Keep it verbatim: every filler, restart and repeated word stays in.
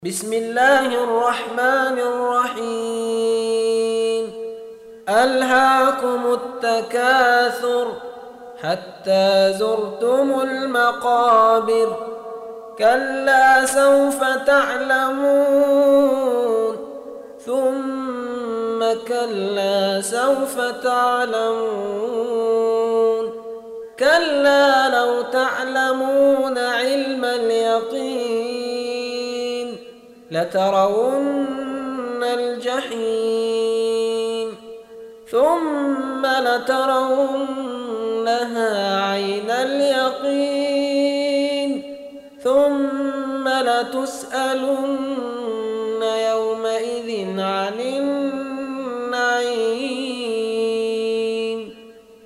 بسم الله الرحمن الرحيم ألهاكم التكاثر حتى زرتم المقابر كلا سوف تعلمون ثم كلا سوف تعلمون كلا لو تعلمون علم اليقين لترون الجحيم ثم لترونها عين اليقين ثم لتسألن